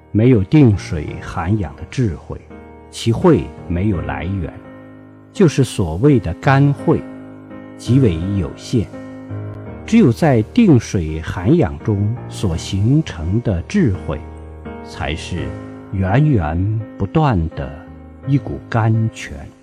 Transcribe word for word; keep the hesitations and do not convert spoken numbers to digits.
没有定水涵养的智慧，其慧没有来源，就是所谓的干慧，极为有限。只有在定水涵养中所形成的智慧，才是源源不断的一股甘泉。